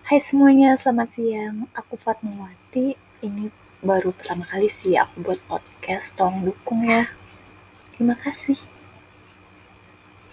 Hai semuanya, selamat siang. Aku Fatmawati. Ini baru pertama kali sih aku buat podcast. Tolong dukung ya. Terima kasih.